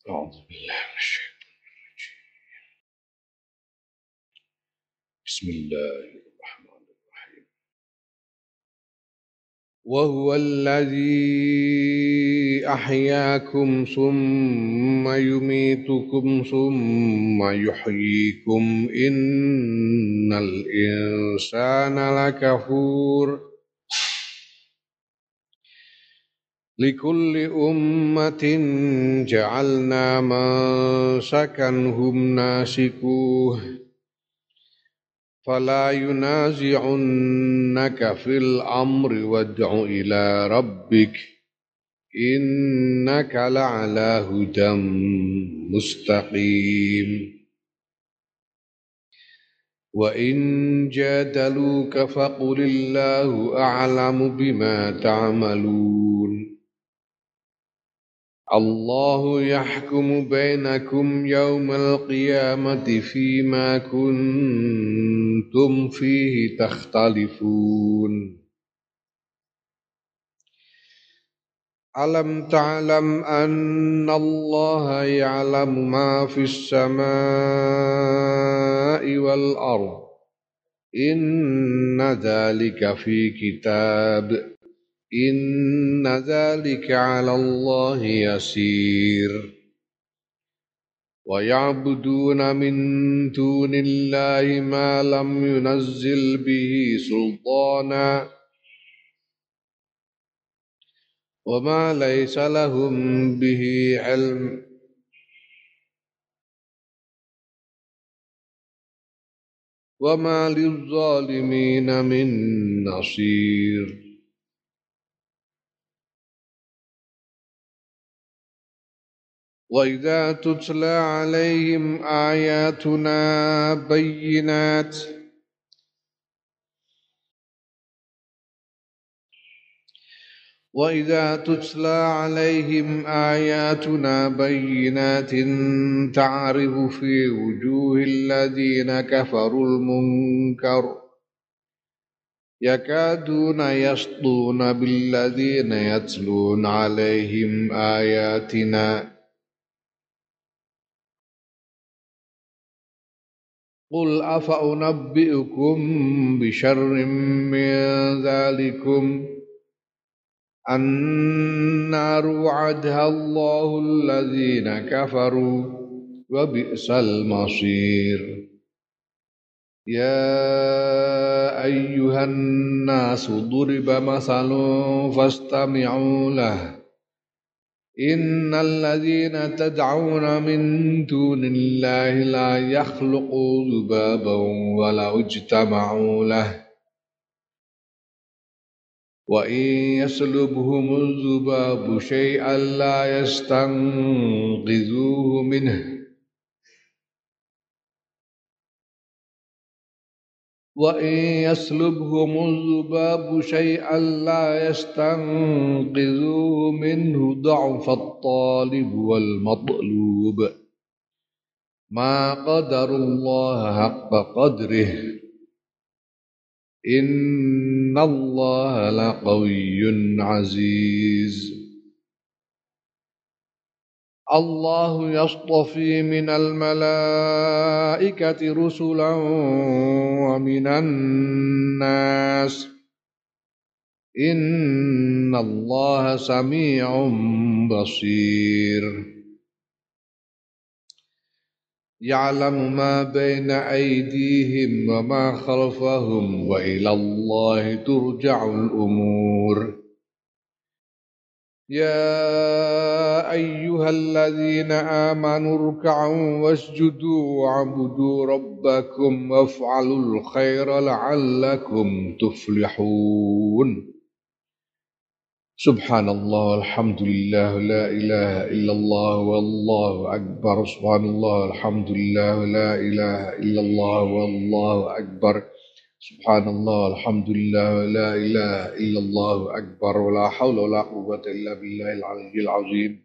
أعوذ بالله من الشيطان الرجيم. بسم الله الرحمن الرحيم. وهو الذي أحياكم ثم يميتكم ثم يحييكم إن الإنسان لكفور لكل أمة جعلنا منسكا هم ناسكوه فلا ينازعنك في الأمر وادع إلى ربك إنك لعلى هدى مستقيم وإن جادلوك فقل الله أعلم بما تعملون الله يحكم بينكم يوم القيامة فيما كنتم فيه تختلفون ألم تعلم أن الله يعلم ما في السماء والأرض إن ذلك في كتاب إن ذلك على الله يسير ويعبدون من دون الله ما لم ينزل به سلطانا وما ليس لهم به علم وما للظالمين من نصير وإذا تتلى عليهم آياتنا بينات تعرف في وجوه الذين كفروا المنكر يكادون يسطون بالذين يتلون عليهم آياتنا قل أفأنبئكم بشر من ذلكم النار وعدها الله الذين كفروا وبئس المصير يا أيها الناس ضرب مثل فاستمعوا له إن الذين تدعون من دون الله لا يخلقوا ذبابا ولو اجتمعوا له وإن يسلبهم الذباب شيئا لا يستنقذوه منه ضعف الطالب والمطلوب ما قدر الله حق قدره إن الله لقوي عزيز الله يصطفي من الملائكة رسلا ومن الناس إن الله سميع بصير يعلم ما بين أيديهم وما خلفهم وإلى الله ترجع الأمور يا أيها الذين آمنوا اركعوا واسجدوا واعبدوا ربكم وافعلوا الخير لعلكم تفلحون سبحان الله والحمد لله لا إله إلا الله والله أكبر سبحان الله والحمد لله لا إله إلا الله والله أكبر سبحان الله والحمد لله لا إله إلا الله أكبر ولا حول ولا قوة إلا بالله العلي العظيم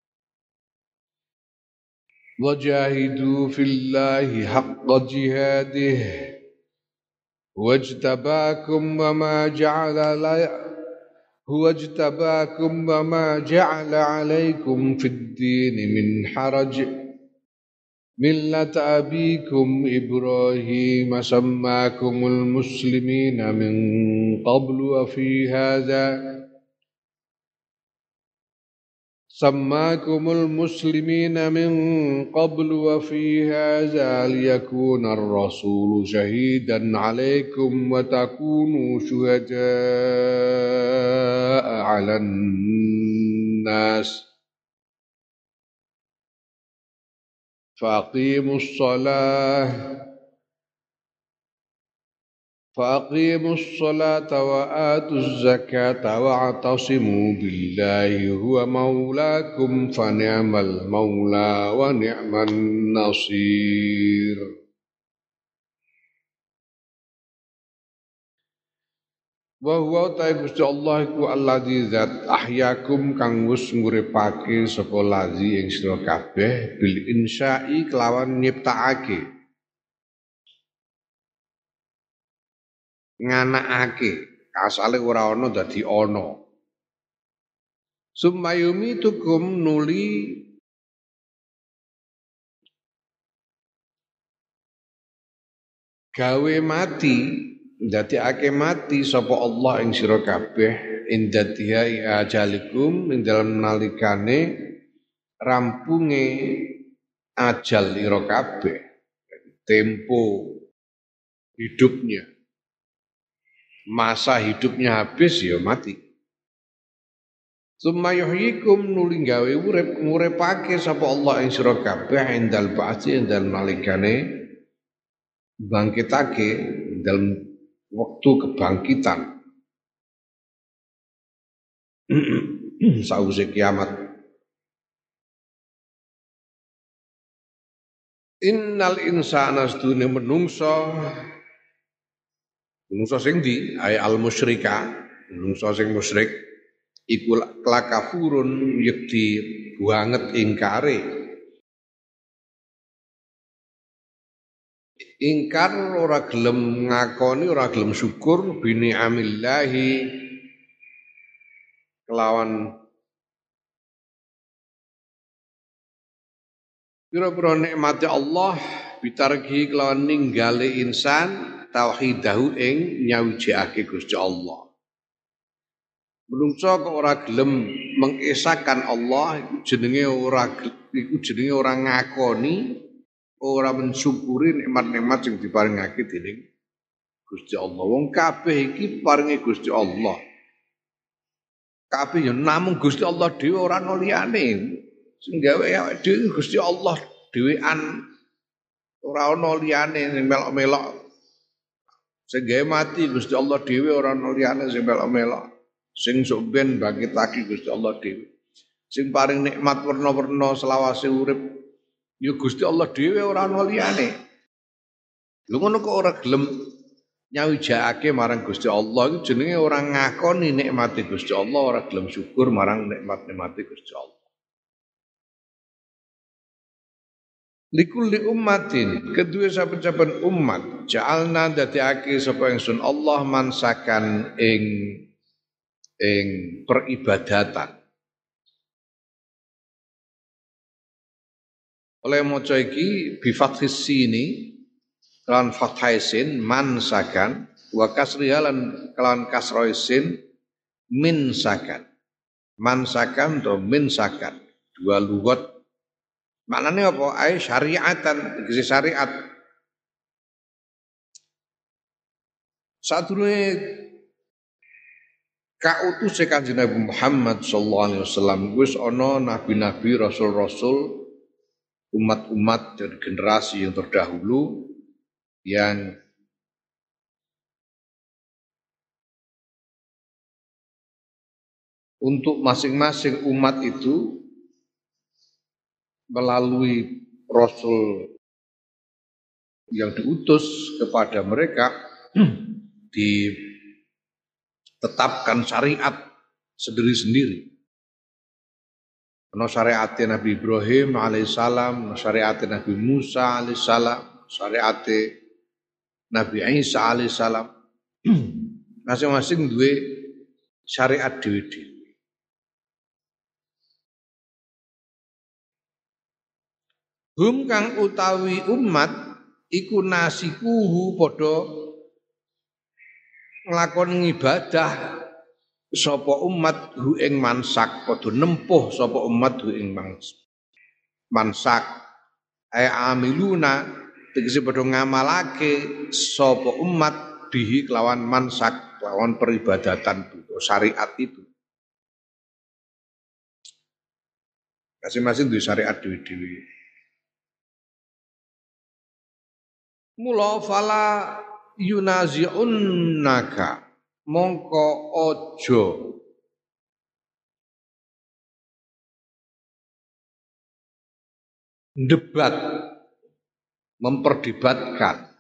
وجاهدوا في الله حق جهاده واجتباكم huwa jtabakum wa ma ja'ala 'alaikum fid din min haraj millata abikum Ibrahim sammakumul muslimina min qablu wa fi hadza سماكم المسلمين من قبل وفي هذا ليكون الرسول شهيدا عليكم وتكونوا شهداء على الناس فأقيموا الصلاة وآتوا الزكاة واعتصموا بالله هو مولاكم فنعم المولى ونعم النصير. Wa huwa ta'ala Gusti Allah iku alladzi zat ahyakum kang wis nguripake sapa lazi ing sira kabeh bil insya'i kelawan nyiptakake nganakake asale ora ana dadi ana sumayumi tukum nuli gawe mati ndadekake mati sapa Allah ing sira kabeh indatiha ajalikum ing dalem nalikane rampunge ajal ira kabeh tempo hidupnya masa hidupnya habis ya mati. Summa yuhyikum nuli gawe urip nguripake sapa Allah ing sira kabeh indal ba'si indal nalikane bangkitake dalam waktu kebangkitan sause kiamat. Innal insana sedune menungso sing di ay al musyrika menungso sing musyrik iku lakafurun yekti banget ingkar ora gelem ngakoni ora gelem syukur bini amillahi kelawan pira-pira nikmate Allah bitargi kelawan ninggale insan tauhidahu ing nyawijake Gusti Allah. Menungso kok ora gelem mengesahkan Allah iku jenenge ora ngakoni, ora mensyukuri nikmat-nikmat sing diparingake dening Gusti Allah. Wong kabeh iki paringe Gusti Allah. Kabeh ya namung Gusti Allah dhewe ora ana liyane. Sing gawe awake dhewe Gusti Allah dhewean ora ana liyane sing melok-melok. Sing gawe mati Gusti Allah dhewe ora ana liyane sing melok-melok. Sing sok ben bangkitake Gusti Allah dhewe. Sing paring nikmat werna-werna selawase urip ya Gusti Allah dhewe ora ana liyane. Lha ngono kok ora gelem nyawijake marang Gusti Allah iku jenenge ora ngakoni nikmate Gusti Allah, ora gelem syukur marang nikmat-nikmate Gusti Allah. Likulli ummatin kedua saben-saben umat ja'alna dadekake sapa ingsun Allah mansakan ing peribadatan. Oleh maca iki bi fathis sini lan fathai sin mansakan wa kasriha lan kelawan kasroh sin minsakan. Mansakan atau minsakan dua lugat. Maknanya apa? Ai syariatan, tegese syariat. Sadurunge kautus Kanjeng Nabi Muhammad sallallahu alaihi wasallam wis ana nabi-nabi, rasul-rasul, umat-umat dari generasi yang terdahulu yang untuk masing-masing umat itu melalui rasul yang diutus kepada mereka ditetapkan syariat sendiri-sendiri. Ana syariat Nabi Ibrahim alaihissalam, syariat Nabi Musa alaihissalam, syariat Nabi Isa alaihissalam. Masing-masing duwe syariat dhewe-dhewe. Hum kang utawi umat iku nasikuhu padha nglakoni ibadah sapa umat hu ing mansak, padha nempuh sapa umat hu ing mansak. Amiluna tegese padha ngamalake sapa umat bihi kelawan mansak, kelawan peribadatan itu, syariat itu. Masing-masing duwe syariat dhewe-dhewe. Mula fala yunazi'unnaka mongko aja debat memperdebatkan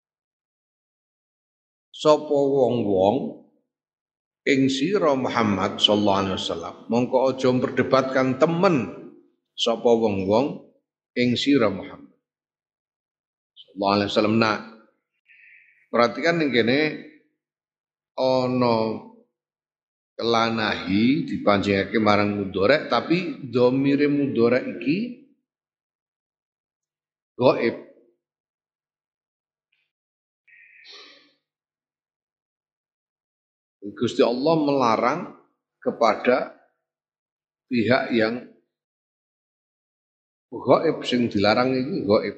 sapa wong-wong ing sira Muhammad sallallahu alaihi wasallam, mongko aja memperdebatkan temen sapa wong-wong ing sira Muhammad sallallahu alaihi wasallam. Nah, perhatikan ning kene ana kelanahi dipanjingake marang mudhorek, tapi dhamire mudhorek iki gaib. Gusti Allah melarang kepada pihak yang gaib, sing dilarang iki gaib.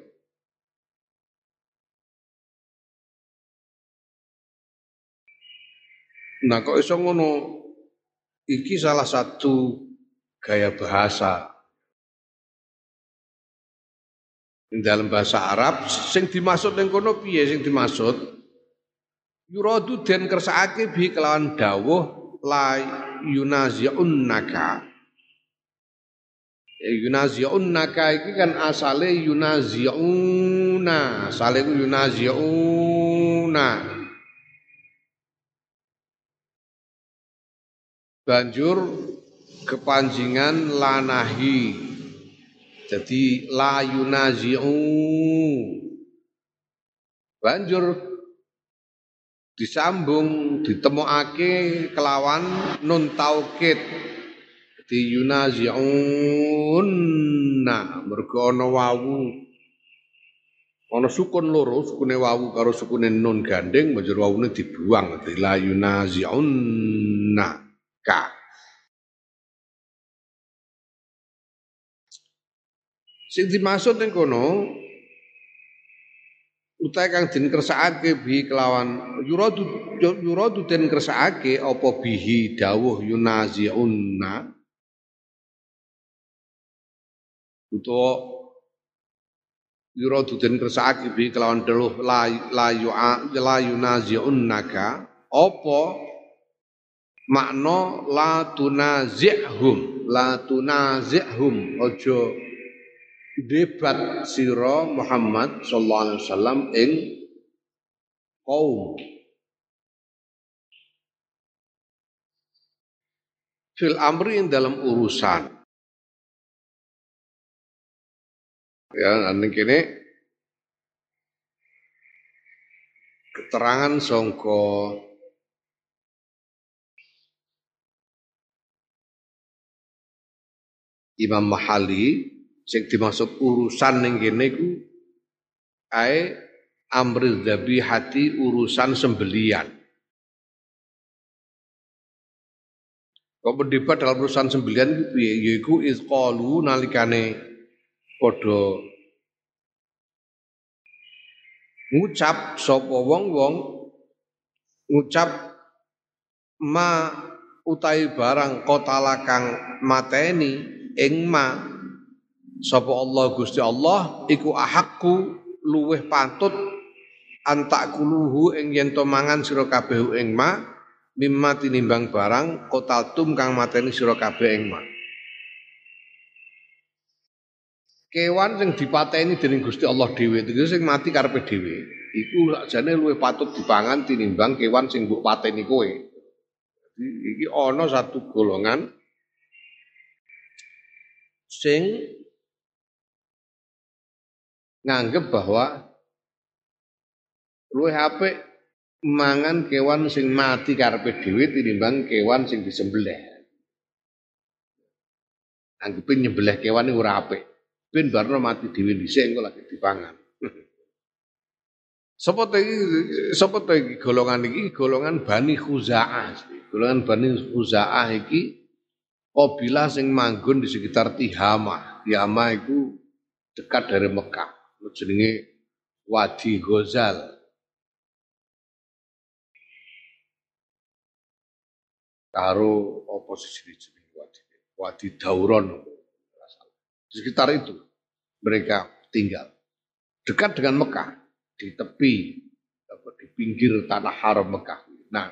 Nah, kok iso ngono? Iki salah satu gaya bahasa dalam bahasa Arab. Sing dimaksud ning kono piye? Sing dimaksud yuradu den kersakake bi kelawan dawuh la yunazi'unnaka. Yunazi'unnaka iki kan asale yunazi'una, asale yunazi'una. Banjur kepanjingan lanahi, jadi la yunazi'u, banjur disambung ditemokake kelawan nun taukid, jadi yunazi'unna, mergo ana wawu, ana sukun loro, sukune wawu karo sukune nun gandeng, banjur wawune dibuang, jadi la yunazi'unna ka. Sing dimaksud ning kono utahe kang den kersakake bi kelawan yuradu den kersakake apa bihi dawuh yunazi'unna utawa yuradu den kersakake bi kelawan dawuh la yunazi'unnaka apa makna la tunazi'hum aja debat sira Muhammad sallallahu alaihi wasallam ing kaum fil amri ing dalam urusan. Ya, ning kene keterangan sangka Imam Mahali sing dimaksud urusan ning kene iku ae amri dzabihati, urusan sembelian. Kok berdebat dalam urusan sembelian iku piye? Yaiku izqalu nalikane padha ngucap sapa wong-wong ngucap ma utahi barang kotala kang mateni ing ma sapa Allah Gusti Allah iku ahakku luweh patut antak kuluhu ing yen to mangan sira kabeh ing ma mimma tinimbang barang kotaltum kang mateni sira kabeh ing ma. Kewan sing dipateni dening Gusti Allah dhewe itu sing mati karepe dhewe iku sakjane luwih patut dipangan tinimbang kewan sing mbok pateni kowe. Iki ana satu golongan sing nganggep bahwa luwih apik mangan kewan sing mati karepe dhewe tinimbang kewan sing disembelih. Anggepe nyembelih kewan iki ora apik. Ben barno mati dhewe dhisik engko lagi dipangan. Sapa to iki golongan iki? Golongan Bani Khuza'ah. Golongan Bani Khuza'ah iki kabilah sing manggon di sekitar Tihama. Tihama iku dekat dari Mekah. Jenenge Wadi Ghazal. Karo apa sih jenenge Wadi Dauron. Di sekitar itu mereka tinggal. Dekat dengan Mekah, di tepi, di pinggir tanah haram Mekah. Nah,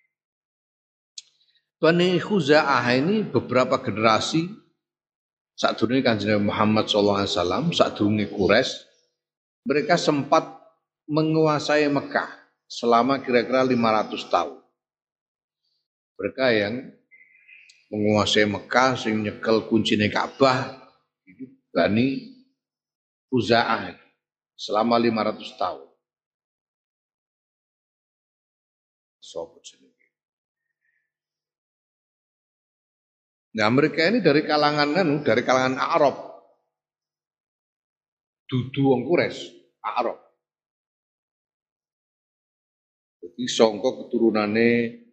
Bani Khuza'ah ini beberapa generasi saat dunia Kanjeng Muhammad SAW, saat dunia Quraisy, mereka sempat menguasai Mekah selama kira-kira 500 tahun. Mereka yang menguasai Mekah sing nyekel kuncine Ka'bah itu Bani Khuza'ah selama 500 tahun. Sopo jenenge? Nah, mereka ini dari kalangan Arab. Dudu wong Quraisy, Arab. Jadi sangka keturunane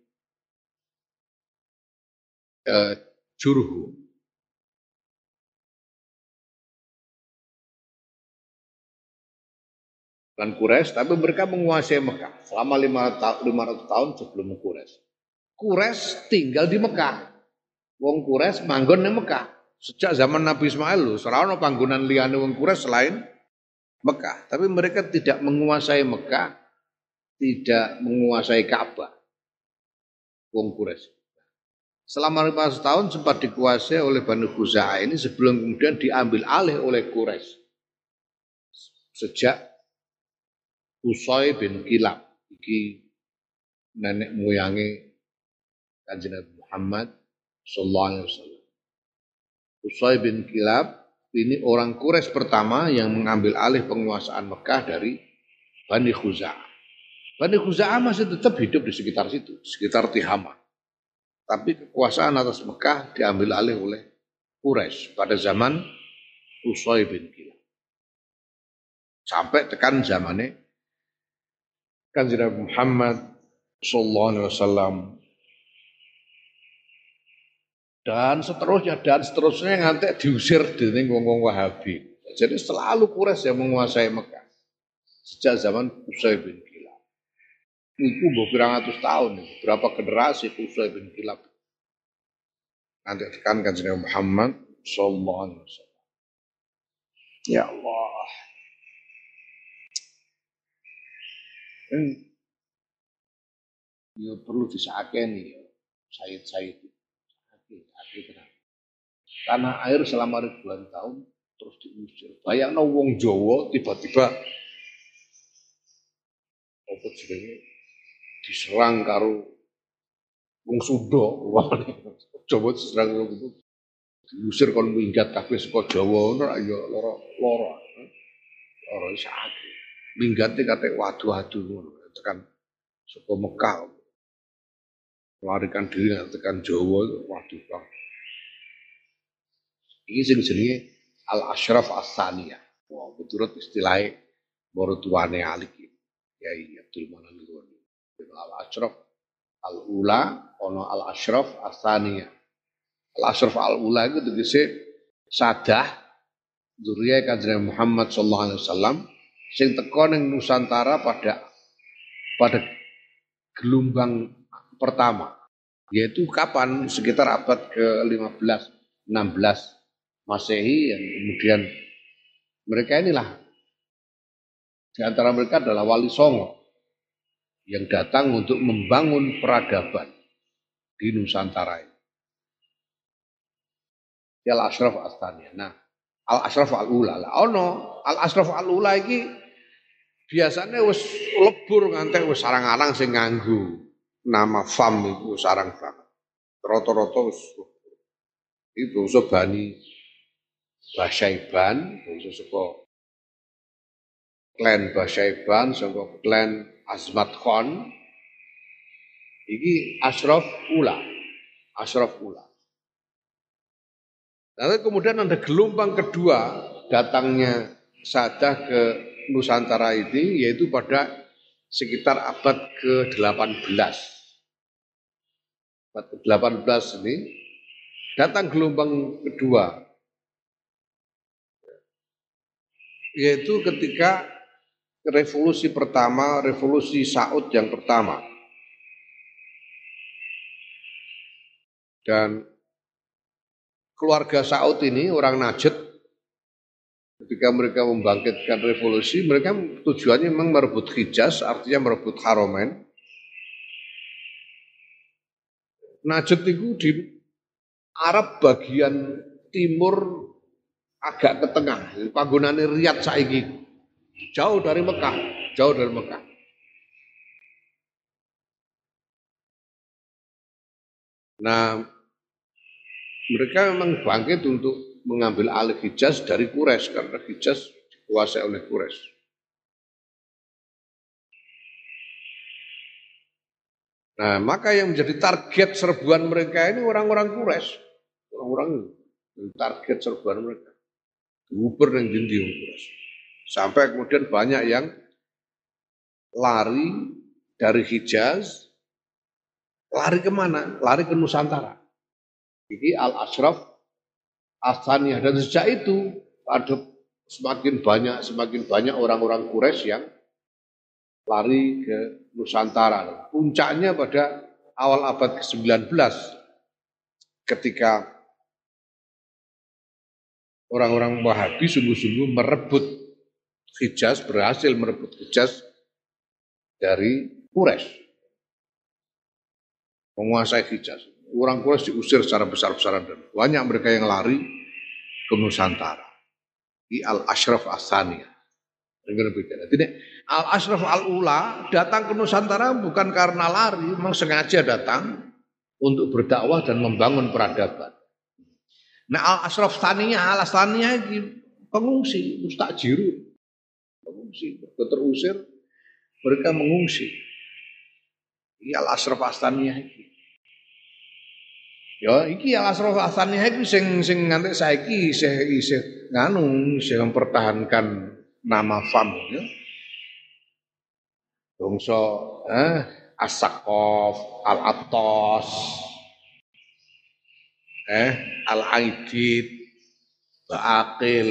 Jurhum. Dan Quraisy, tapi mereka menguasai Mekah selama 500 tahun sebelum Quraisy. Quraisy tinggal di Mekah. Wong Quraisy manggon di Mekah. Sejak zaman Nabi Ismail lho, ora ono panggonan liyane wong Quraisy selain Mekah. Tapi mereka tidak menguasai Mekah, tidak menguasai Ka'bah. Wong Quraisy. Selama 500 tahun sempat dikuasai oleh Bani Khuza'ah ini sebelum kemudian diambil alih oleh Quraisy. Sejak Qusay bin Kilab, iki nenek moyange Kanjeng Nabi Muhammad sallallahu alaihi wasallam. Qusay bin Kilab ini orang Quraisy pertama yang mengambil alih penguasaan Mekah dari Bani Khuza'ah. Bani Khuza'ah masih tetap hidup di sekitar situ, sekitar Tihama. Tapi kekuasaan atas Mekah diambil alih oleh Quraisy pada zaman Qusay bin Kilab. Sampai tekan zamannya Kanjeng Nabi Muhammad sallallahu alaihi wasallam dan seterusnya ngantek diusir dening wong-wong Wahabi. Jadi selalu Quraisy yang menguasai Mekah sejak zaman Qusay bin Kilab. Itu beberapa ratus tahun, berapa generasi Qusay bin Kilab. Nanti tekan Kanjeng Nabi Muhammad sallallahu alaihi wasallam. Ya Allah. Ya perlu disakeni ya. Said-said itu. Tanah air selama ribuan tahun terus diusir. Bayangno wong Jawa tiba-tiba apa jenenge diserang karo wong Sunda. Jawa diserang wong itu diusir kon minggat kabeh saka Jawa ngono ya lara. Lara sakit. Minggate kate waduh-waduh ngono tekan saka Mekah. Melarikan diri tekan Jawa waduh Bang. Iki sing jenenge Al-Asyraf As-Saniyah. Wah, menurut istilah martuane Ali Kyai Abdul Manan Lurwani. Al-Asyraf Al-Ula ono Al-Asyraf As-Saniyah. Al-Asyraf Al-Ula itu tegese sadah dzurriyyah Kanjeng Muhammad sallallahu alaihi wasallam sing teka ning Nusantara pada gelombang pertama, yaitu kapan sekitar abad ke-15, 16 Masehi, yang kemudian mereka inilah di antara mereka adalah Wali Songo yang datang untuk membangun peradaban di Nusantara ini. Al-Asyraf As-Saniyah. Nah, Al-Asyraf Al-Ula. Al-Asyraf Al-Ula iki biasanya wis lebur ngantek wis sarang-arang sing nganggo nama fam itu sarang banget. Rata-rata wis itu Bani Basyaiban, bangsa saka klan Basyaiban, saka klan Azmat Khan, Iki asyraf ula. Asyraf ula. Lalu kemudian ada gelombang kedua datangnya Sadah ke Nusantara ini yaitu pada sekitar abad ke-18. Abad ke-18 ini datang gelombang kedua yaitu ketika revolusi pertama, revolusi Saud yang pertama. Dan keluarga Saud ini orang Najd ketika mereka membangkitkan revolusi, mereka tujuannya memang merebut Hijaz, artinya merebut Haromain. Najd itu di Arab bagian timur agak ke tengah, panggonane Riyadh saiki. Jauh dari Mekah, jauh dari Mekah. Nah, mereka memang bangkit untuk mengambil alih Hijaz dari Quraisy karena Hijaz dikuasai oleh Quraisy. Nah, maka yang menjadi target serbuan mereka ini orang-orang Quraisy. Orang-orang target serbuan mereka. Guber yang dindi Quraisy. Sampai kemudian banyak yang lari dari Hijaz, lari kemana? Lari ke Nusantara. Ini Al-Ashraf As-Saniyah. Dan sejak itu ada semakin banyak orang-orang Quraisy yang lari ke Nusantara. Puncaknya pada awal abad ke-19 ketika orang-orang Wahabi sungguh-sungguh merebut Hijaz, berhasil merebut Hijaz dari Quraisy. Menguasai Hijaz. Orang Quraisy diusir secara besar-besaran dan banyak mereka yang lari ke Nusantara. Di Al-Ashraf As-Saniyah. Jadi Al-Ashraf Al-Ula datang ke Nusantara bukan karena lari, memang sengaja datang untuk berdakwah dan membangun peradaban. Nah Al-Ashraf Saniyah, Al-Saniyah ini pengungsi, mustajirun. Mengungsi, terusir, mereka mengungsi. Ini Al-Ashraf As-Saniyah ini. Ya, iki Al-Ashraf As-Saniyah iki sing nganti saiki isih nganu, isih mempertahankan nama FAM ya. Bangsa As-Saqaf, Al-Attas, Al-Aidid, Ba'aqil,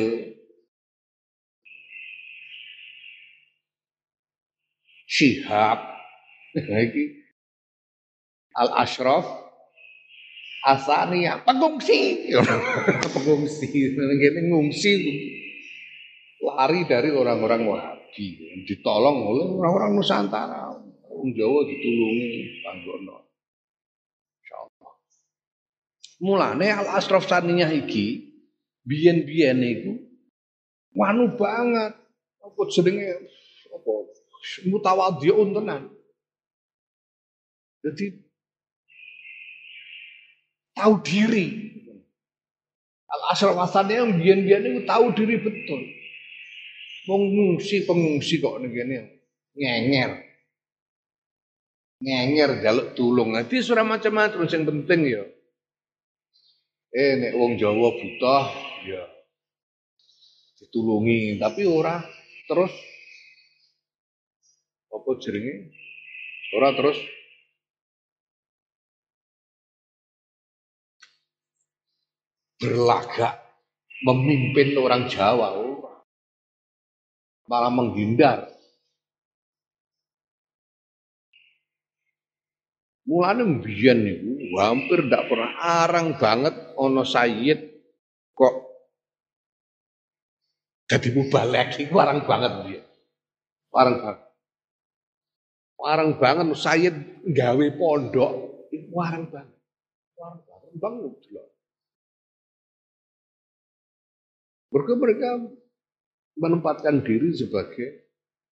Syihab, iki Al-Ashraf As-Saniyah, pengungsi, pengungsi, ngungsi, lari dari orang-orang Wahabi, ditolong oleh orang-orang Nusantara, orang Jawa ditulungi, panggono, insyaallah. Mulane Al-Ashraf Saniyah iki, biyen-biyen iku, wanu banget, apa jenenge, apa mutawadhiun tenan. Jadi tahu diri. Al-Ashraf As-Saniyah yang biyen-biyen itu tahu diri betul. Pengungsi kok ngene ngenger. Ngenger jaluk tulung. Nanti surah macam-macam yang penting ya. Nek wong Jawa butuh ya ditulungi, tapi ora terus apa jenenge? Ora terus berlagak memimpin orang Jawa, malah menghindar. Mulane mbiyen niku hampir ndak pernah arang banget ana sayyid kok dadi mubalek iku arang banget mbiyen. Arang banget. Arang banget sayyid gawe pondok iku arang banget. Arang banget delok. Mereka menempatkan diri sebagai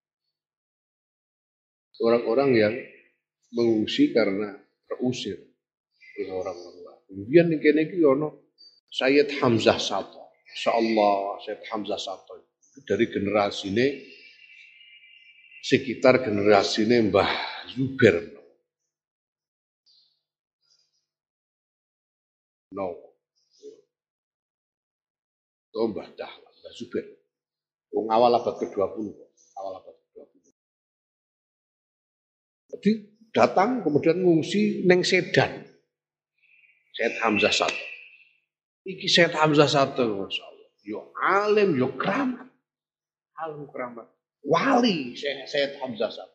orang-orang yang mengungsi karena terusir oleh orang-orang lain. Kemudian kene iki ono Sayyid Hamzah Sato. Insyaallah Sayyid Hamzah Sato dari generasi ini sekitar generasi ini Mbah Zubair. No. Oh Mbah Dahlan, Mbah Zubair. Wong awal abad ke-20. Awal abad ke-20. Jadi datang kemudian ngungsi neng Sedan. Said Hamzah satu. Iki Said Hamzah satu, Masya Allah. Yo alim, yo keramat. Alim keramat. Wali Said Hamzah satu.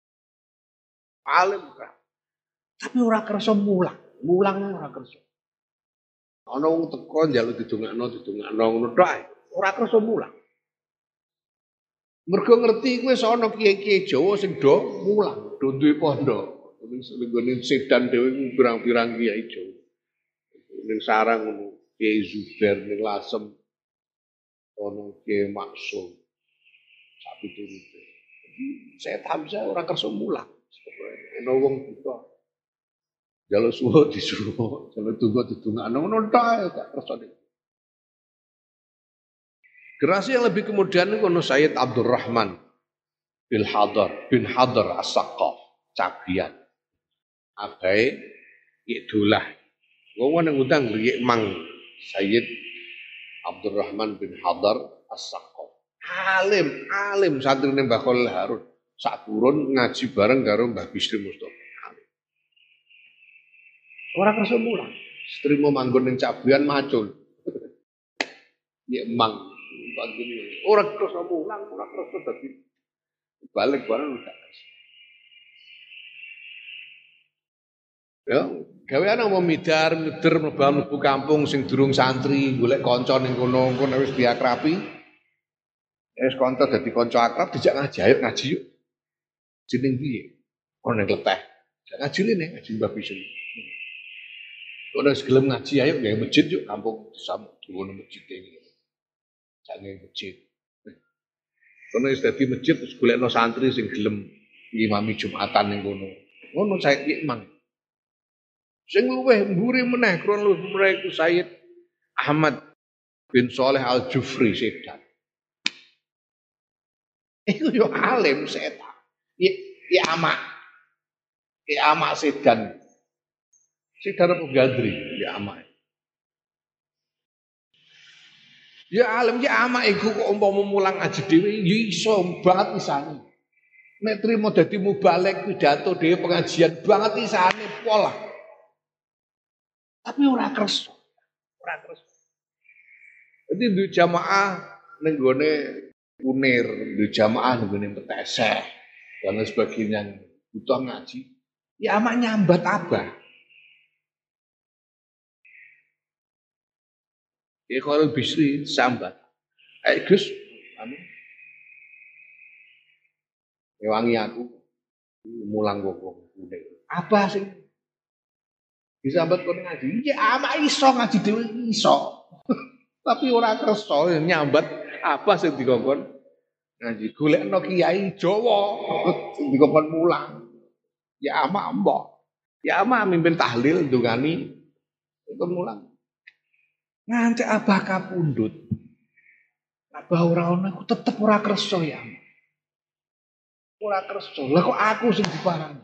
Alim keramat. Tapi ora kersa mulang. Mulang ora kersa. Ana wong teko njaluk didongakno ngono tok ae. Ora kersa mulang. Mergo ngerti kuwi ana kiai-kiai Jawa sing do mulang, do duwe pondok. Ning nggone Sedan dhewe pirang-pirang kiai Jawa. Ning sarang ngono Kiai Zubair ning Lasem ono Kiai Maksum sapi turute. Saya Hamzah ora kersa mulang. Ana wong buta. Jaluk suwo disuwo, jaluk tunggu didongakno ngono tok ae gak kersa. Generasi yang lebih kemudian kono Sayyid Abdurrahman bin Hadar As-Saqqaf, Cabian. Abai Ikdulah. Wong nang ngundang Yek Mang Sayyid Abdurrahman bin Hadar As-Saqqaf. Alim santrine Mbah Khalil Harun. Sak turun ngaji bareng karo Mbah Bisri Mustofa. Ora kersa mulang. Setrimo manggon ning Cabian macul. Yek Mang ora kersa mulang, ora kersa dadi balik bareng gak kersa. Ya, gawean mau midar mlebu kampung sing durung santri, golek kanca ning kono wis diakrabi. Wis kanca dadi kanca akrab dijak ngaji, ayo ngaji yuk. Jeneng piye? Ono ning Kleteh. Jak ngaji lene, ngaji Mbah Bisri. Ono wis gelem ngaji, ayo gawe masjid yuk kampung desamu ngono masjid iki. Jak gawe masjid. Kono wis dadi masjid terus golekno santri sing gelem ngimami Jumatan ning kono. Ngono saya iki mang. Sing luweh mburi meneh kron luweh iku Sayyid Ahmad bin Saleh Al-Jufri Sedan. Iku yo alim setan. Ya amak. Ya amak Sedan. Sedan apa Gadri? Ya amak. Ya alim ya amak iku kok umpama mulang aji dhewe ya iso banget isane. Nek trimo dadi mubalek pidato dhewe pengajian banget isane pola. Tapi ora kersa. Ora kersa. Dadi duwe jamaah ning gone Kunir, duwe jamaah ning gone Peteseh dan sebagainya butuh ngaji. Ya amak nyambat abah. Ya Khalil Bisri sambat. Gus, ngewangi aku mulang wong Kunir. Apa sih? Disambat kon ngaji. Ya amak iso ngaji dhewe iso. Tapi ora kersa nyambat apa sing dikongkon ngaji golekno kiai Jawa sing dikongkon mulang. Ya amak mbok. Ya amak mimpin tahlil ndungani itu mulang. Nganti abah kapundhut. Abah ora ono aku tetep ora kersa ya. Ora kersa. Lah kok aku sing diparani.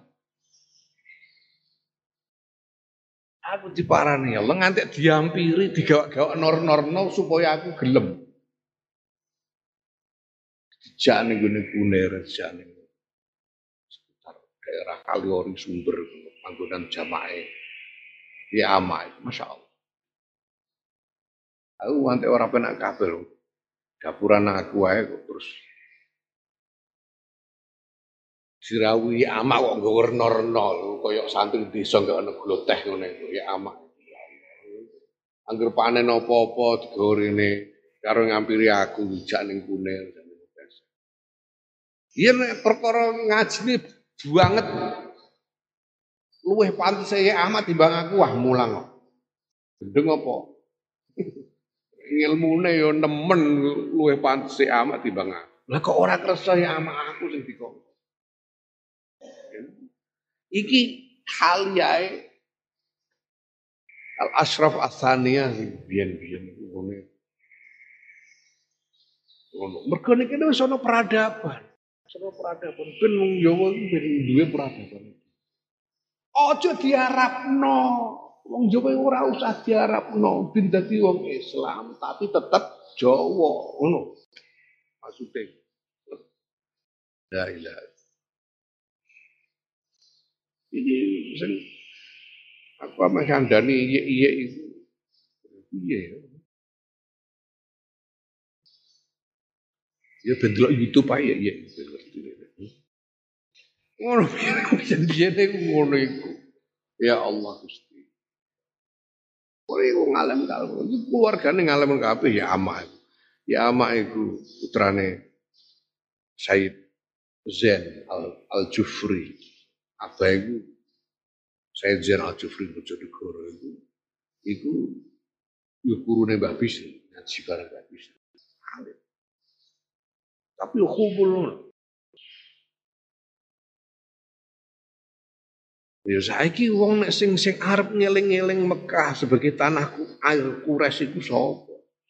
Aku diparani Allah nganti diampiri digawak-gawak nor-norno supaya aku gelem. Dijak ning gone Kunir, dijak ning sekitar daerah Kaliori Sumber panggonan jamaah. Ya amak, Masya Allah. Aku nganti ora penak kabel. Dapuran aku wae kok terus dirawi amak kok nggo werna-werna kaya santri desa gak ana gula teh ngene iku ya amak. Angger panen apa-apa digorene karo ngampiri aku dijak ning Kunir. Iya nek perkara ngajine banget luweh pantese ya amat timbang aku wah mulang kok. Gendeng apa? Ilmune ya nemen luwih pantes amak timbang aku. Lah kok ora kersa ya amak aku sing dikon. Iki hal yae Al-Ashraf Ats-Tsaniyah sing biyen-biyen ngene. Ngono. Mergo niki wis ana peradaban. Ana peradaban ben wong Jawa iki ben duwe peradaban. Aja diarapno Wong Jawa ora usah diarapno ben dadi wong Islam, tapi tetap Jawa, ngono. Maksudnya, la ilaha. Iki sing apa mangkandani iya iku. Iya ya. Ya ben delok YouTube ae ya iya ngerti. Ngono biyen iku ngono iku. Ya Allah Gusti. Ora iku ngalem kalem. Iki keluargane ngalem kabeh ya amak. Ya amak iku putrane Said Zain Al-Jufri. Apa iku Said Zain Al-Jufri Bojonegoro iku yo gurune Mbah Bisri, ngaji bareng Mbah Bisri. Tapi yo kumpul. Ya saiki wong nek sing arep ngeling-eling Mekah sebagai tanahku air Quraisy iku sapa?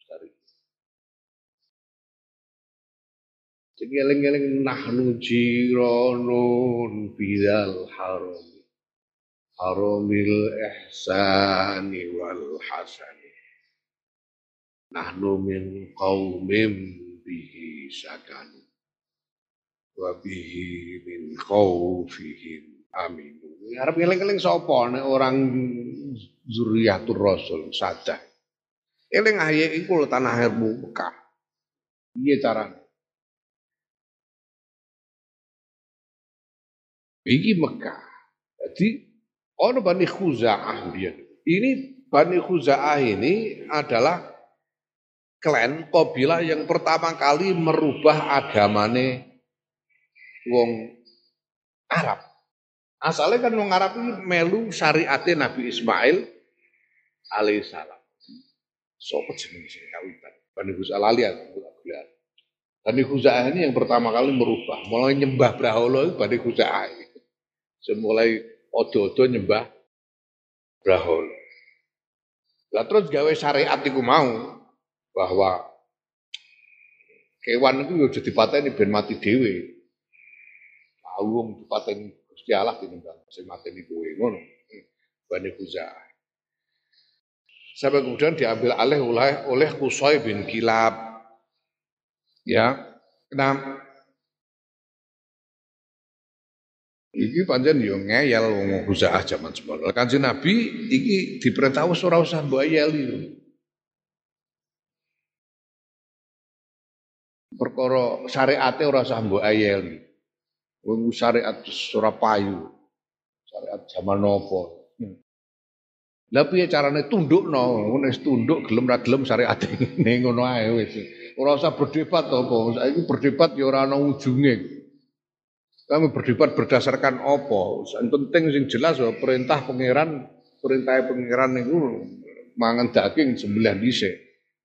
Sing eling-eling nahnu jiranun bidal haram. Haramil ihsani wal hasani. Nahnu min qaumim bihi sakanu. Wa bihi min khaufihim aminu. Arep eling-eling sapa nek orang zuriyatur rasul sadah. Eling aye iku lho tanah airmu Mekah. Piye carane? Iki Mekah. Jadi ono Bani Khuza'ah biyen. Ini Bani Khuza'ah ini adalah klan kabilah yang pertama kali merubah agamane wong Arab. Asalnya kan wong Arab ini melu syariatnya Nabi Ismail alaihissalam. Sopo jenenge sing kawitan? Bani Khuza'ah lali aku. Bani Khuza'ah ini yang pertama kali merubah, mulai nyembah brahala itu Bani Khuza'ah. Semulai odo-odo nyembah brahala. Lah terus gawe syariat iku mau bahwa kewan itu yo aja dipateni ben mati dhewe. Wong dipateni Gusti Allah tinimbang sing mateni kowe ngono. Bani Khuza'ah. Sampai kemudian diambil alih oleh Qusay bin Kilab. Ya. Nah, iki pancen yo ngeyel wong Khuza'ah jaman semono. Kanjeng Nabi iki diperintah wis ora usah mbok ayeli. Perkara syariate ora usah mbok ayeli. Wong syariat ora payu. Syariat jaman nopo. Lah piye carane tundukno, wis tunduk gelem ra gelem syariate ngene ngono ae wis. Ora usah berdebat apa, saiki berdebat ya ora ana ujunge. Kami berdebat berdasarkan apa? Yang penting sing jelas bahwa perintah pangeran niku mangan daging sembelih dhisik.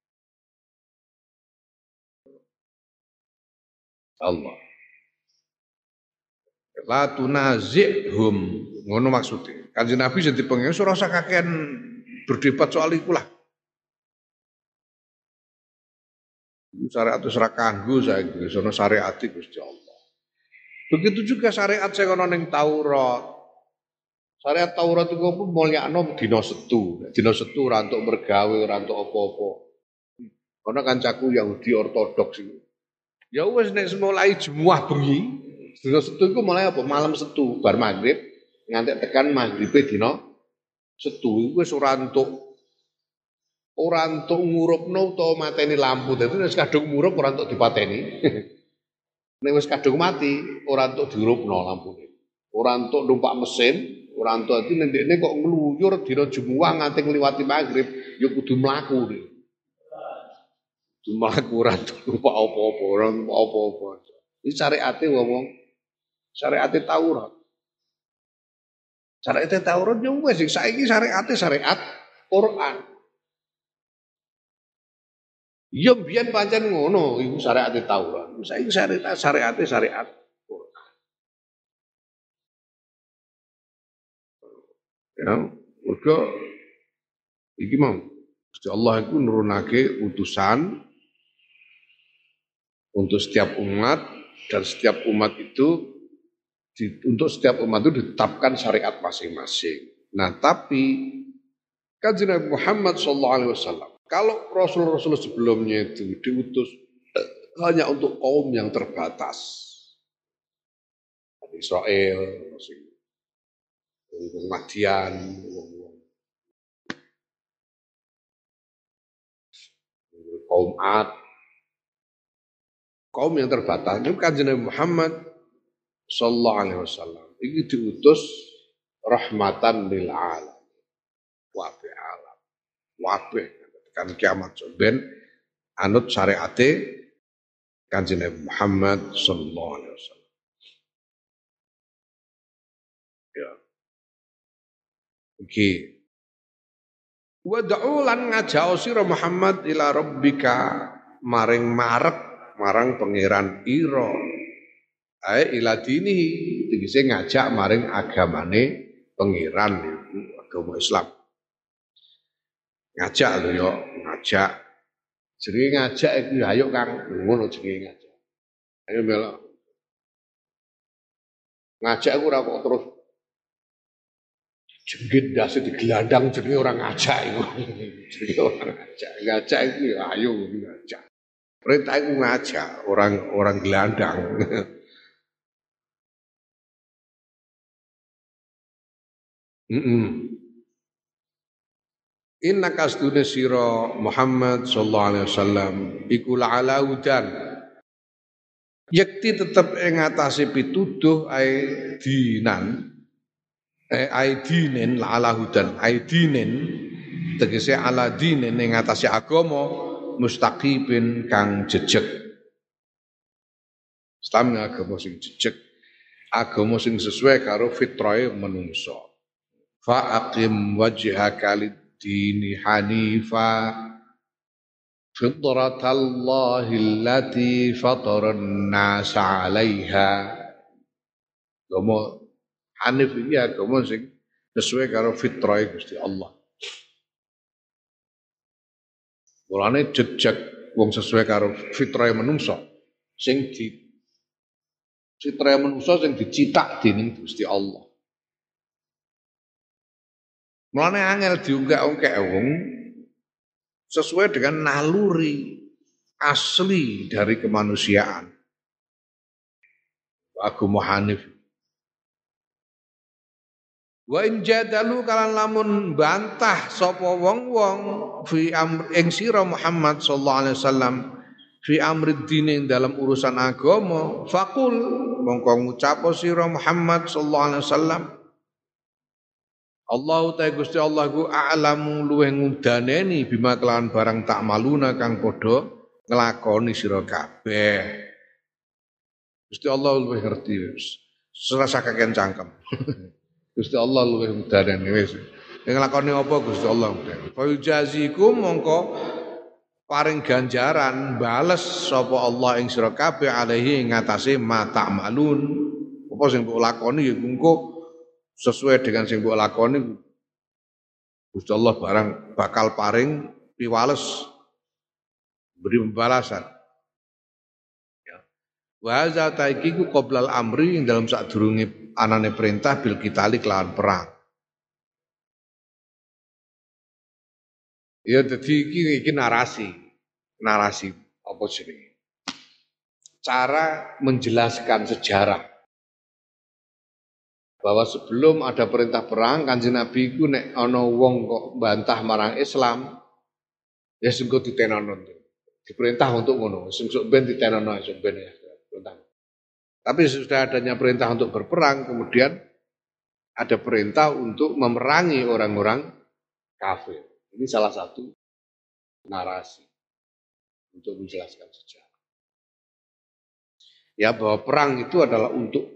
Allah. La tunazihum, ngono maksudnya. Kanjeng Nabi jadi pengen ora usah kakean berdebat soal iku lah. Syariat wis ora kanggo saiki, sono syariat Gusti Allah. Begitu juga syariat sing ana ning Taurat. Syariat Taurat iku apa mulyakno dina Setu. Dina Setu ora entuk mergawe, ora entuk apa-apa. Ana kancaku Yahudi ortodoks iku. Ya wis nek mulai Jumat bengi, dina Setu iku mulai apa? Malam Setu, bar magrib nganti tekan maghribe dina Setu iku wis ora entuk ngurupno utawa mateni lampu. Dadi nek kadung ngurup ora entuk dipateni. Nek wis kadung mati, ora entuk diurupno lampune. Ora entuk numpak mesin, ora entuk dadi ndekne kok ngluyur dina Jumat nganti ngliwati magrib, ya kudu mlaku. Kudu mlaku ora entuk numpak apa-apa, ora numpak apa-apa. Iki syariate wong syariate Taurat. Syariate Taurat yo wis saiki syariate syariat Quran. Ya mbiyen pancen ngono, iku syariate Taurat. Saiki syariate syariat Quran. Ya, mergo iki mau Gusti Allah iku nurunake utusan untuk setiap umat dan setiap umat itu untuk setiap umat itu ditetapkan syariat masing-masing. Nah, tapi Kanjeng Nabi Muhammad sallallahu alaihi wasallam. Kalau rasul-rasul sebelumnya itu diutus hanya untuk kaum yang terbatas. Israel, Madian, kaum Ad, kaum yang terbatas. Itu kanjeng Nabi Muhammad sallallahu alaihi wasallam. Ini diutus rahmatan lil alam. Wabih alam. Wabih kan kiamat ben anut syariate kanjeng Nabi Muhammad sallallahu alaihi wasallam. Ya. Iki wad'u lan ngajak sira Muhammad ila rabbika maring marang pangeran ira. Ae ila dinihi tegese ngajak maring agamane pangeran iku agama Islam. Ngajak lho yo, ngajak. Jenenge ngajak iku ayo Kang, ngono jenenge ngajak. Ayo melok. Ngajak iku ora kok terus jenggit dasi digelandang jenenge orang ngajak iku. Jenenge orang ngajak. Ngajak iku ya ayo ngajak. Perintah iku ngajak, orang gelandang. Inna kasdune sira Muhammad sallallahu alaihi wasallam iku ala hudan. Yakti tetep ing atase pituduh dinan aidinen ala hudan aidinen tegese ala dinen ing atase agama mustaqibin kang jejeg. Islam agama sing jejeg, agama sing sesuai karo fitrahe manungsa. Fa aqim wajhaka lid-dini hanifa fitratallahi allati fataran nasa 'alaiha. Agama hanif iki agama sing sesuai karo fitrahe Gusti Allah. Mulane jejeg wong sesuai karo fitrahe manungsa sing fitrahe manungsa sing dicitak dening Gusti Allah. Mulane angel diungkek-ungkek wong sesuai dengan naluri asli dari kemanusiaan. Agama Hanif. Wa in jadalu kalan lamun bantah sapa wong-wong fi amr ing sira Muhammad sallallahu alaihi wasallam fi amrid dini dalam urusan agama faqul mongko ngucap sira Muhammad sallallahu alaihi wasallam Allah ta Gusti Allah ku a'lamu luweh ngudaneni bima kelawan barang tak maluna kang padha nglakoni sira kabeh. Gusti Allah luweh ngerti wis. Serasa kakek cangkem. Gusti Allah luweh ngudaneni wis. Nglakoni apa Gusti Allah ngudaneni. Fa yujazikum mongko paring ganjaran bales sapa Allah ing sira kabeh alaihi ngatasé ma ta'malun. Apa sing mbok lakoni ya engko sesuai dengan sing mbok lakoni Gusti Allah barang bakal paring piwales beri pembalasan. Ya. Wa za taiki ku qoblal amri ing dalam sadurunge anane perintah bil kitali kelawan perang. Ya dadi iki narasi apa jenenge? Cara menjelaskan sejarah bahwa sebelum ada perintah perang Kanjeng Nabi iku nek ana wong kok bantah marang Islam ya sing kok ditenono. Diperintah untuk ngono, sing sok ben ditenono sok ben ya perintah. Tapi sudah adanya perintah untuk berperang kemudian ada perintah untuk memerangi orang-orang kafir. Ini salah satu narasi untuk menjelaskan sejarah. Ya bahwa perang itu adalah untuk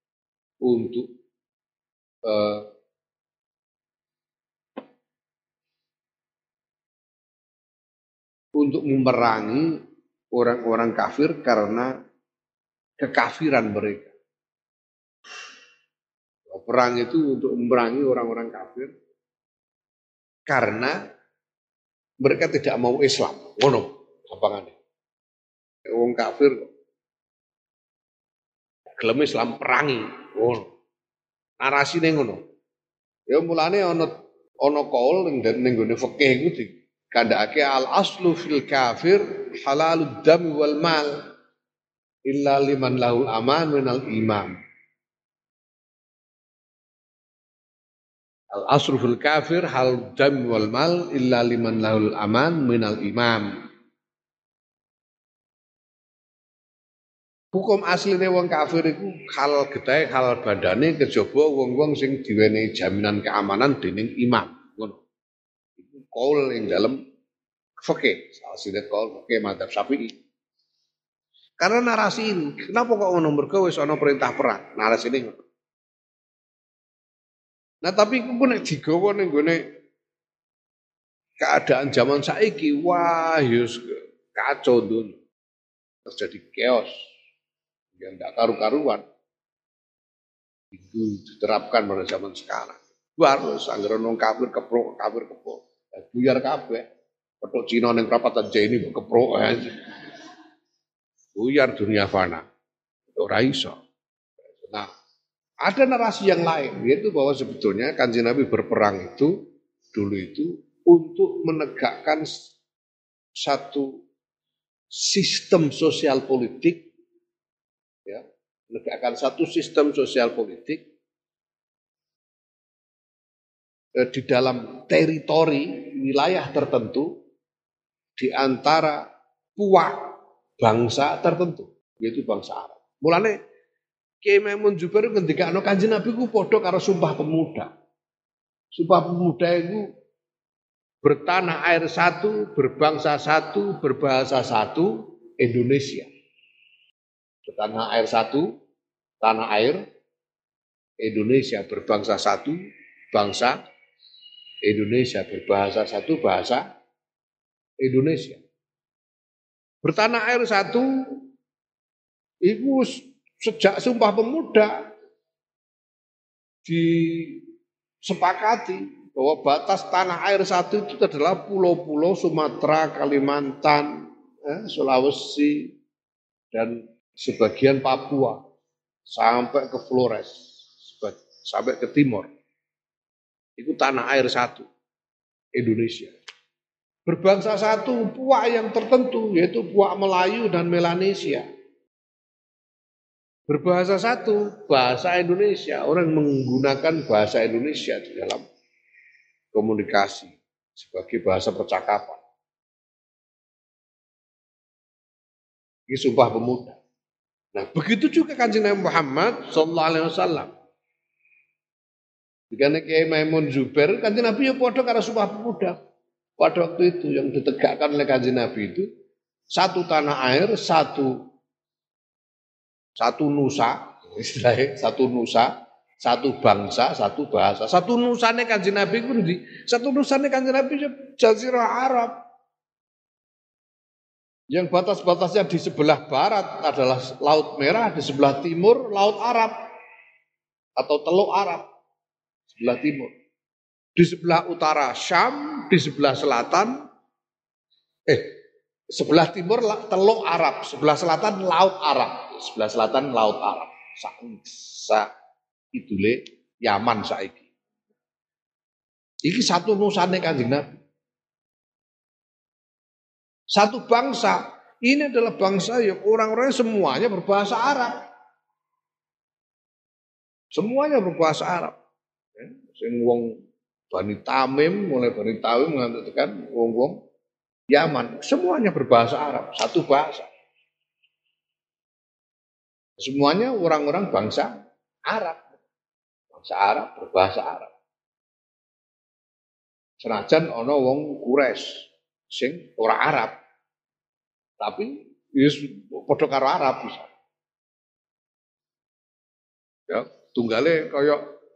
memerangi orang-orang kafir karena kekafiran mereka. Perang itu untuk memerangi orang-orang kafir karena mereka tidak mau Islam. Ngono, gampangane. Wong kafir gelem Islam perangi. Ngono. Narasine ngono. Ya mulane ana ana kaul ning gone fikih iku dikandhakake al aslu fil kafir halalud dam wal mal illa liman lahul aman minal imam. Al aslu fil kafir halud dam wal mal illa liman lahul aman minal imam. Hukum asline wong kafir iku halal getahe halal bandane kejaba wong-wong sing diwenehi jaminan keamanan dening imam. Ngono. Iku kaul ing dalem fikih, asline kaul fikih madzhab Syafi'i. Karena narasi ini, kenapa kok ngono mergo wis ana perintah perang? Narasi ini. Nah tapi iku nek digawa ning gone keadaan zaman saiki, wah yus kacau dun. Terjadi chaos yang enggak karu-karuan. Itu diterapkan pada zaman sekarang. Baru sanggara nong kafir keprok. Buyar kabeh. Petuk Cina ning perapatan ini keprok aja. Buyar dunia fana. Ora iso. Nah, ada narasi yang lain yaitu bahwa sebetulnya Kanjeng Nabi berperang itu dulu itu untuk menegakkan satu sistem sosial politik, ya, menegakkan satu sistem sosial politik di dalam teritori wilayah tertentu di antara puak bangsa tertentu, yaitu bangsa Arab. Mulane Kiai Maimun Zubair ngendikane Kanjeng Nabi ku padha karo Sumpah Pemuda. Sumpah Pemuda itu bertanah air satu, berbangsa satu, berbahasa satu, Indonesia. Bertanah air satu, tanah air Indonesia, berbangsa satu, bangsa Indonesia, berbahasa satu, bahasa Indonesia. Bertanah air satu, itu sejak Sumpah Pemuda disepakati bahwa batas tanah air satu itu adalah pulau-pulau Sumatera, Kalimantan, Sulawesi, dan sebagian Papua sampai ke Flores, sampai ke timur. Itu tanah air satu, Indonesia. Berbangsa satu, puak yang tertentu, yaitu puak Melayu dan Melanesia. Berbahasa satu, bahasa Indonesia. Orang menggunakan bahasa Indonesia di dalam komunikasi sebagai bahasa percakapan. Ini Sumpah Pemuda. Nah, begitu juga Kanjeng Nabi Muhammad sallallahu alaihi wasallam. Dikane Kiai Maimun Zubair, Kanjeng Nabi ya padha karo Sumpah Pemuda. Pada waktu itu yang ditegakkan oleh Kanjeng Nabi itu satu tanah air, satu nusa, istilahnya satu nusa, satu bangsa, satu bahasa. Satu nusane Kanjeng Nabi ku ndi? Satu nusane Kanjeng Nabi Jazirah Arab. Yang batas-batasnya di sebelah barat adalah Laut Merah, di sebelah timur Laut Arab atau Teluk Arab sebelah timur. Di sebelah utara Syam, di sebelah selatan sebelah timur Teluk Arab, sebelah selatan Laut Arab, sebelah selatan Laut Arab. Sa idule Yaman saiki. Iki satu nusane Kanjeng Nabi. Satu bangsa, ini adalah bangsa yang orang-orangnya semuanya berbahasa Arab. Semuanya berbahasa Arab. Sing wong Bani Tamim, mulai Bani Tamim mengatakan wong-wong Yaman, semuanya berbahasa Arab, satu bahasa. Semuanya orang-orang bangsa Arab. Bangsa Arab berbahasa Arab. Senajan ana wong Quraisy sing ora Arab. Tapi wis padha karo Arab bisa. Ya, tunggale kaya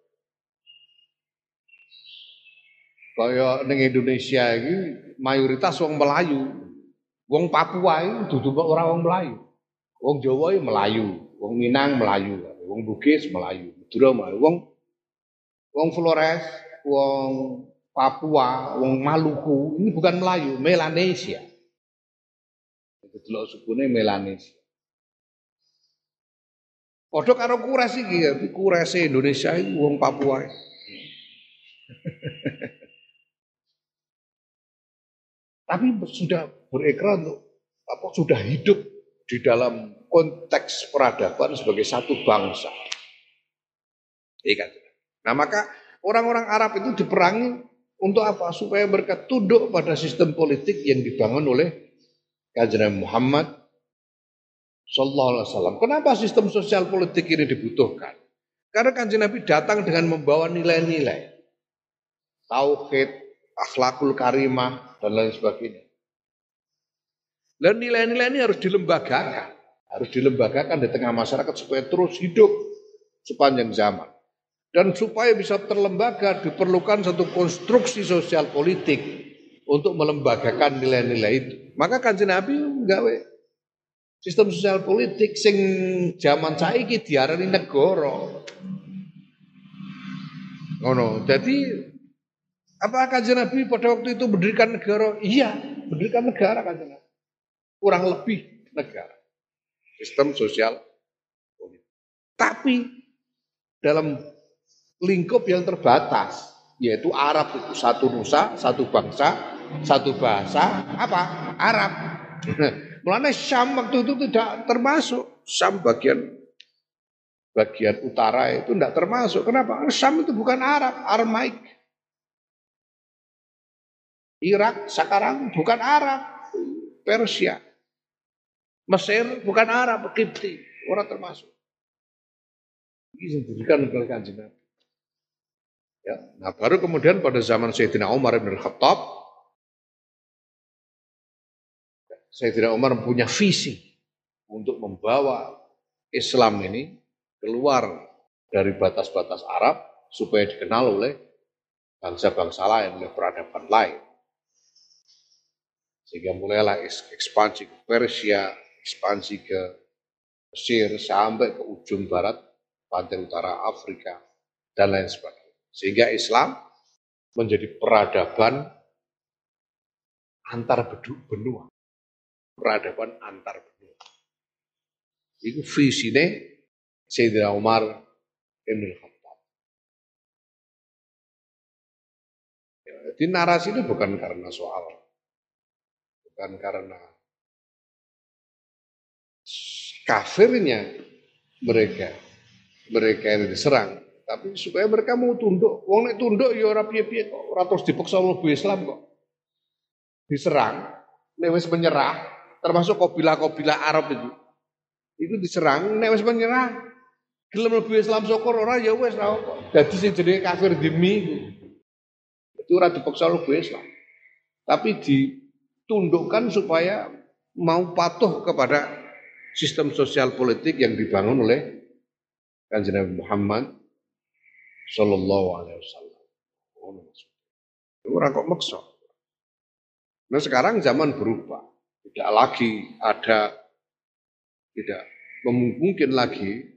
ning Indonesia iki mayoritas wong Melayu. Wong Papua iki dudu ora wong Melayu. Wong Jawa iki Melayu, wong Minang Melayu, wong Bugis Melayu, Madura Melayu, wong Flores, wong Papua, wong Maluku ini bukan Melayu, Melanesia. Delok sukune Melanesia. Padha karo Quraisy iki, Quraisy Indonesia iki wong Papua. tapi sudah berekrar sudah hidup di dalam konteks peradaban sebagai satu bangsa. Iya kan? Nah, maka orang-orang Arab itu diperangi untuk apa? Supaya mereka tunduk pada sistem politik yang dibangun oleh Kanjeng Nabi Muhammad sallallahu alaihi wasallam. Kenapa sistem sosial politik ini dibutuhkan? Karena Kanjeng Nabi datang dengan membawa nilai-nilai tauhid, akhlakul karimah dan lain sebagainya. Dan nilai-nilai ini harus dilembagakan di tengah masyarakat supaya terus hidup sepanjang zaman. Dan supaya bisa terlembaga diperlukan satu konstruksi sosial politik untuk melembagakan nilai-nilai itu. Maka Kanjeng Nabi nggawe sistem sosial politik sing zaman saiki diarani negara. Ngono. Jadi apa Kanjeng Nabi pada waktu itu mendirikan negara? Iya, mendirikan negara Kanjeng Nabi. Kurang lebih negara. Sistem sosial politik. Tapi dalam lingkup yang terbatas, yaitu Arab itu satu nusa, satu bangsa, satu bahasa, apa? Arab. Mulanya Syam waktu itu tidak termasuk. Syam bagian utara itu tidak termasuk. Kenapa? Syam itu bukan Arab, Aramaik. Irak sekarang bukan Arab, Persia. Mesir bukan Arab, Kipti, orang termasuk. Ini diberikan oleh Kanjeng Nabi. Ya, nah baru kemudian pada zaman Sayyidina Umar bin Khattab, Sayyidina Umar punya visi untuk membawa Islam ini keluar dari batas-batas Arab supaya dikenal oleh bangsa-bangsa lain, oleh peradaban lain. Sehingga mulailah ekspansi ke Persia, ekspansi ke Mesir, sampai ke ujung barat, pantai utara Afrika, dan lain sebagainya. Sehingga Islam menjadi peradaban antar benua. Peradaban antar benua. Itu visinya Sayyidina Umar bin Khattab. Jadi narasi itu bukan karena kafirnya mereka yang diserang, tapi supaya mereka mau tunduk. Wong nek tunduk ya ora piye-piye kok, ora terus dipaksa mlebu Islam kok. Diserang, nek wis menyerah, termasuk kabilah-kabilah Arab itu. Itu diserang, nek wis menyerah, gelem mlebu Islam syukur ora ya wis ra kok. Dadi sing jenenge kafir dhimmi iku. Itu ora dipaksa mlebu Islam. Tapi ditundukkan supaya mau patuh kepada sistem sosial politik yang dibangun oleh Kanjeng Nabi Muhammad sallallahu alaihi wasallam. Ora kok maksa. Nah sekarang zaman berubah. Tidak mungkin lagi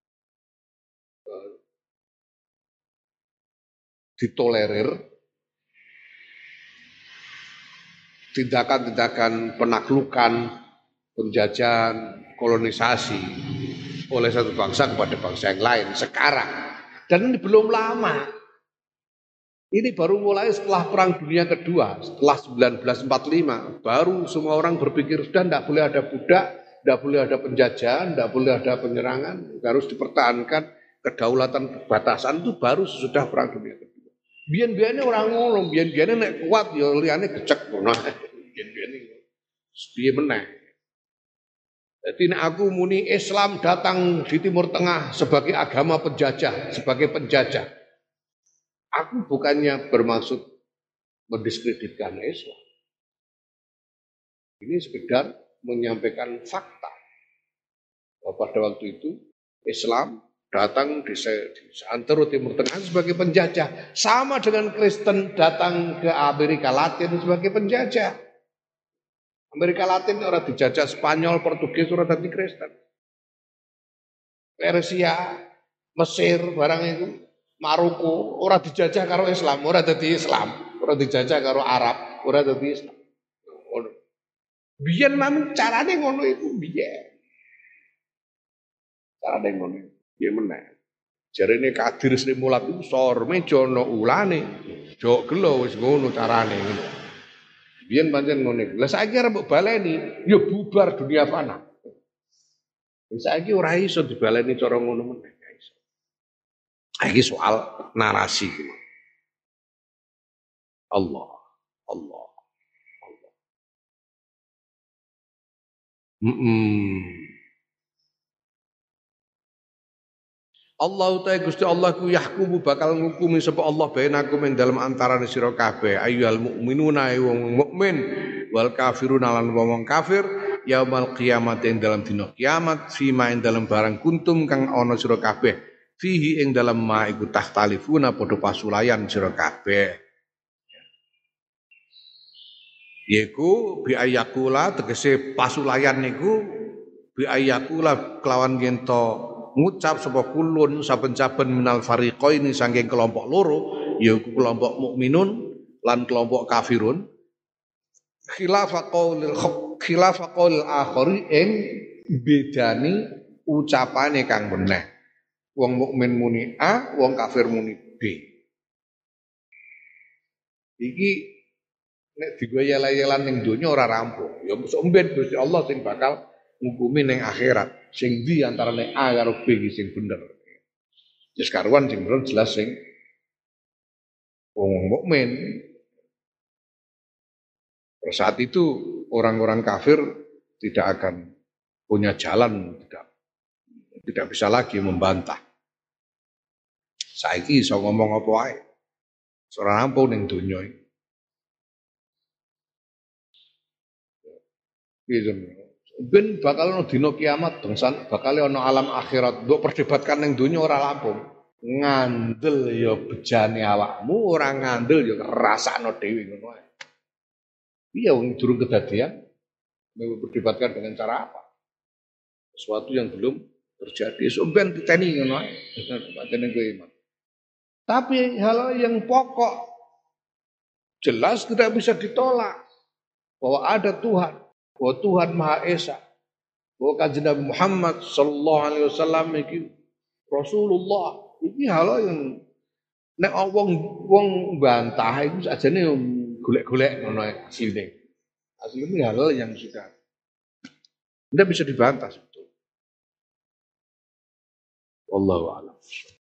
ditolerir tindakan-tindakan penaklukan, penjajahan, kolonisasi oleh satu bangsa kepada bangsa yang lain sekarang. Dan ini belum lama. Ini baru mulai setelah Perang Dunia Kedua, setelah 1945, baru semua orang berpikir sudah tidak boleh ada budak, tidak boleh ada penjajahan, tidak boleh ada penyerangan, harus dipertahankan kedaulatan batasan itu baru sesudah Perang Dunia Kedua. Biyen-biyene orang ngono, biyen-biyene nek kuat ya liyane gecek ngono. Biyen-biyene piye meneh. Jadi aku muni Islam datang di Timur Tengah sebagai agama penjajah, sebagai penjajah. Aku bukannya bermaksud mendiskreditkan Islam. Ini sekedar menyampaikan fakta. Bahwa pada waktu itu Islam datang di antero Timur Tengah sebagai penjajah. Sama dengan Kristen datang ke Amerika Latin sebagai penjajah. Amerika Latin orang dijajah Spanyol, Portugis, orang dadi Kristen. Persia, Mesir, barang itu, Maroko, orang dijajah karo Islam, orang dadi Islam, orang dijajah karo Arab, orang dadi Islam. Biyen memang carane ngono iku biyen. Carane ngono. Piye meneh. Jarene Kadir Sri Mulat iku sorme jono ulane. Jok gelo wis ngono carane. Biyen pancen ngono iku. Lah saiki arep mbok baleni, ya bubar dunia fana. Saiki ora iso dibaleni cara ngono meneh. Iki soal narasi. Allah, Allah, Allah. Allah utai Gusti Allah ku yahkumu bakal ngukumi sapa Allah bainakum ing dalem antarane sira kabeh ayyuhal mukminuna wong mukmin wal kafiruna lan wong kafir yaumal kiamat ing dalam dina kiamat fima ing dalam barang kuntum kang ana sira kabeh fihi ing dalam ma iku tahtalifuna padha pasulayan sira kabeh yaiku bi ayakula tegese pasulayan niku bi ayakula kelawan gento ngucap sapa kulun saben-saben minal fariqaini saking kelompok loro yaiku kelompok mukminun lan kelompok kafirun khilafa qaulil akhari ing bedani ucapane kang meneh wong mukmin muni A wong kafir muni B iki nek digoyel-yelan ning donya ora rampung ya mben Gusti Allah sing bakal ngukumi ning akhirat sing di antarane A karo B sing bener. Ya sekaruan sing bener jelas sing wong mukmin. Saat itu orang-orang kafir tidak akan punya jalan, tidak bisa lagi membantah. Saiki iso ngomong apa wae. Ora rampung ning donya iki. Gitu. Ben bakal ono dina kiamat bangsan bakal ono alam akhirat mbok perdebatkan ning donya ora lampung. Ngandel ya bejane awakmu, ora ngandel ya rasakno dhewe ngono ae. Iya wong durung kedadian mau perdebatkan dengan cara apa? Sesuatu yang belum terjadi. Sampeyan titeni ngono ae. Patene kowe iman. Tapi hal yang pokok jelas tidak bisa ditolak bahwa ada Tuhan, bahwa Tuhan Maha Esa, bahwa kanjeng Nabi Muhammad sallallahu alaihi wasallam iki Rasulullah. Iki hal yang nek wong bantah itu sajane golek-golek ngono asline. Asline hal yang sudah tidak bisa dibantah sebetulnya. Wallahu a'lam.